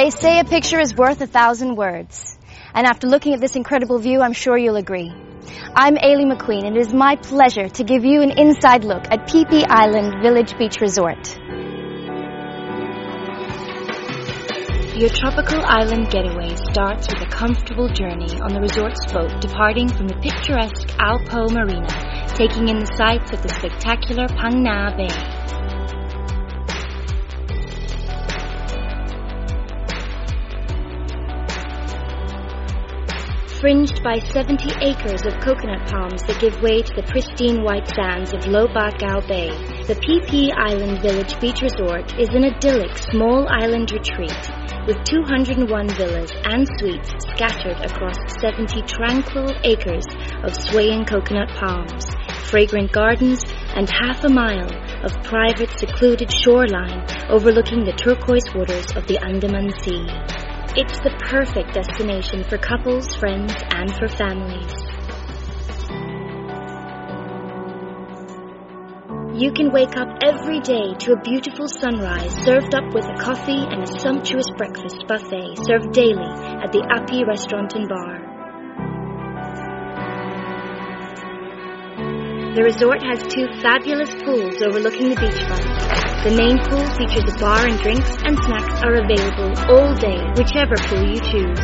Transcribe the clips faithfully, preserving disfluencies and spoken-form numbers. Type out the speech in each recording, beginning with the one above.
They say a picture is worth a thousand words. And after looking at this incredible view, I'm sure you'll agree. I'm Aileen McQueen, and it is my pleasure to give you an inside look at Phi Phi Island Village Beach Resort. Your tropical island getaway starts with a comfortable journey on the resort's boat departing from the picturesque Ao Po Marina, taking in the sights of the spectacular Phang Nga Bay. Fringed by seventy acres of coconut palms that give way to the pristine white sands of Lo Ba Gao Bay, the Phi Phi Island Village Beach Resort is an idyllic small island retreat with two hundred one villas and suites scattered across seventy tranquil acres of swaying coconut palms, fragrant gardens, and half a mile of private secluded shoreline overlooking the turquoise waters of the Andaman Sea. It's the perfect destination for couples, friends, and for families. You can wake up every day to a beautiful sunrise served up with a coffee and a sumptuous breakfast buffet served daily at the Api Restaurant and Bar. The resort has two fabulous pools overlooking the beachfront. The main pool features a bar and drinks and snacks are available all day, whichever pool you choose.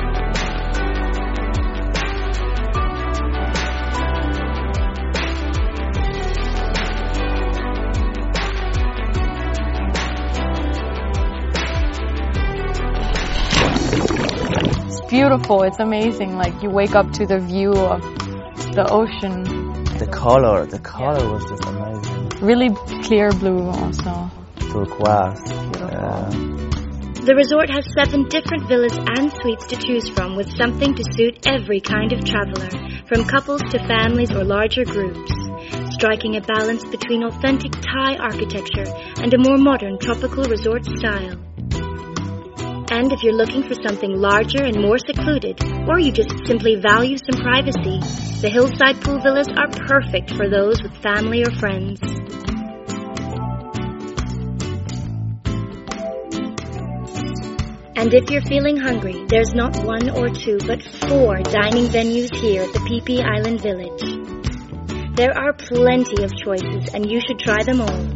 It's beautiful, it's amazing, like you wake up to the view of the ocean. The color, the color yeah. was just amazing. Really clear blue also. Turquoise. Yeah. The resort has seven different villas and suites to choose from with something to suit every kind of traveler, from couples to families or larger groups, striking a balance between authentic Thai architecture and a more modern tropical resort style. And if you're looking for something larger and more secluded, or you just simply value some privacy, the hillside pool villas are perfect for those with family or friends. And if you're feeling hungry, there's not one or two, but four dining venues here at the Phi Phi Island Village. There are plenty of choices, and you should try them all.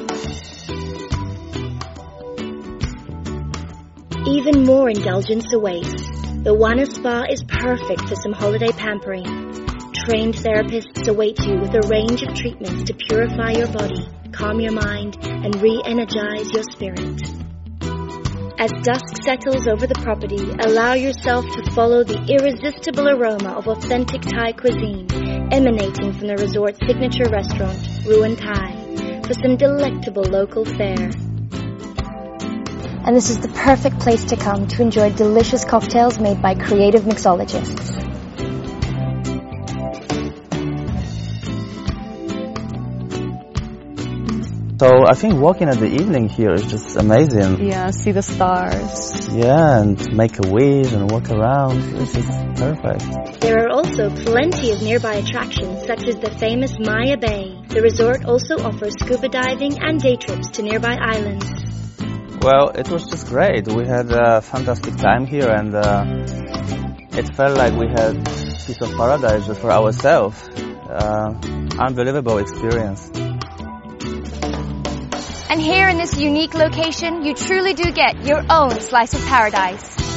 Even more indulgence awaits. The Wana Spa is perfect for some holiday pampering. Trained therapists await you with a range of treatments to purify your body, calm your mind, and re-energize your spirit. As dusk settles over the property, allow yourself to follow the irresistible aroma of authentic Thai cuisine emanating from the resort's signature restaurant, Ruin Thai, for some delectable local fare. And this is the perfect place to come to enjoy delicious cocktails made by creative mixologists. So I think walking at the evening here is just amazing. Yeah, see the stars. Yeah, and make a wish and walk around. It's just perfect. There are also plenty of nearby attractions such as the famous Maya Bay. The resort also offers scuba diving and day trips to nearby islands. Well, it was just great. We had a fantastic time here, and uh, it felt like we had a piece of paradise just for ourselves. Uh, unbelievable experience. And here in this unique location, you truly do get your own slice of paradise.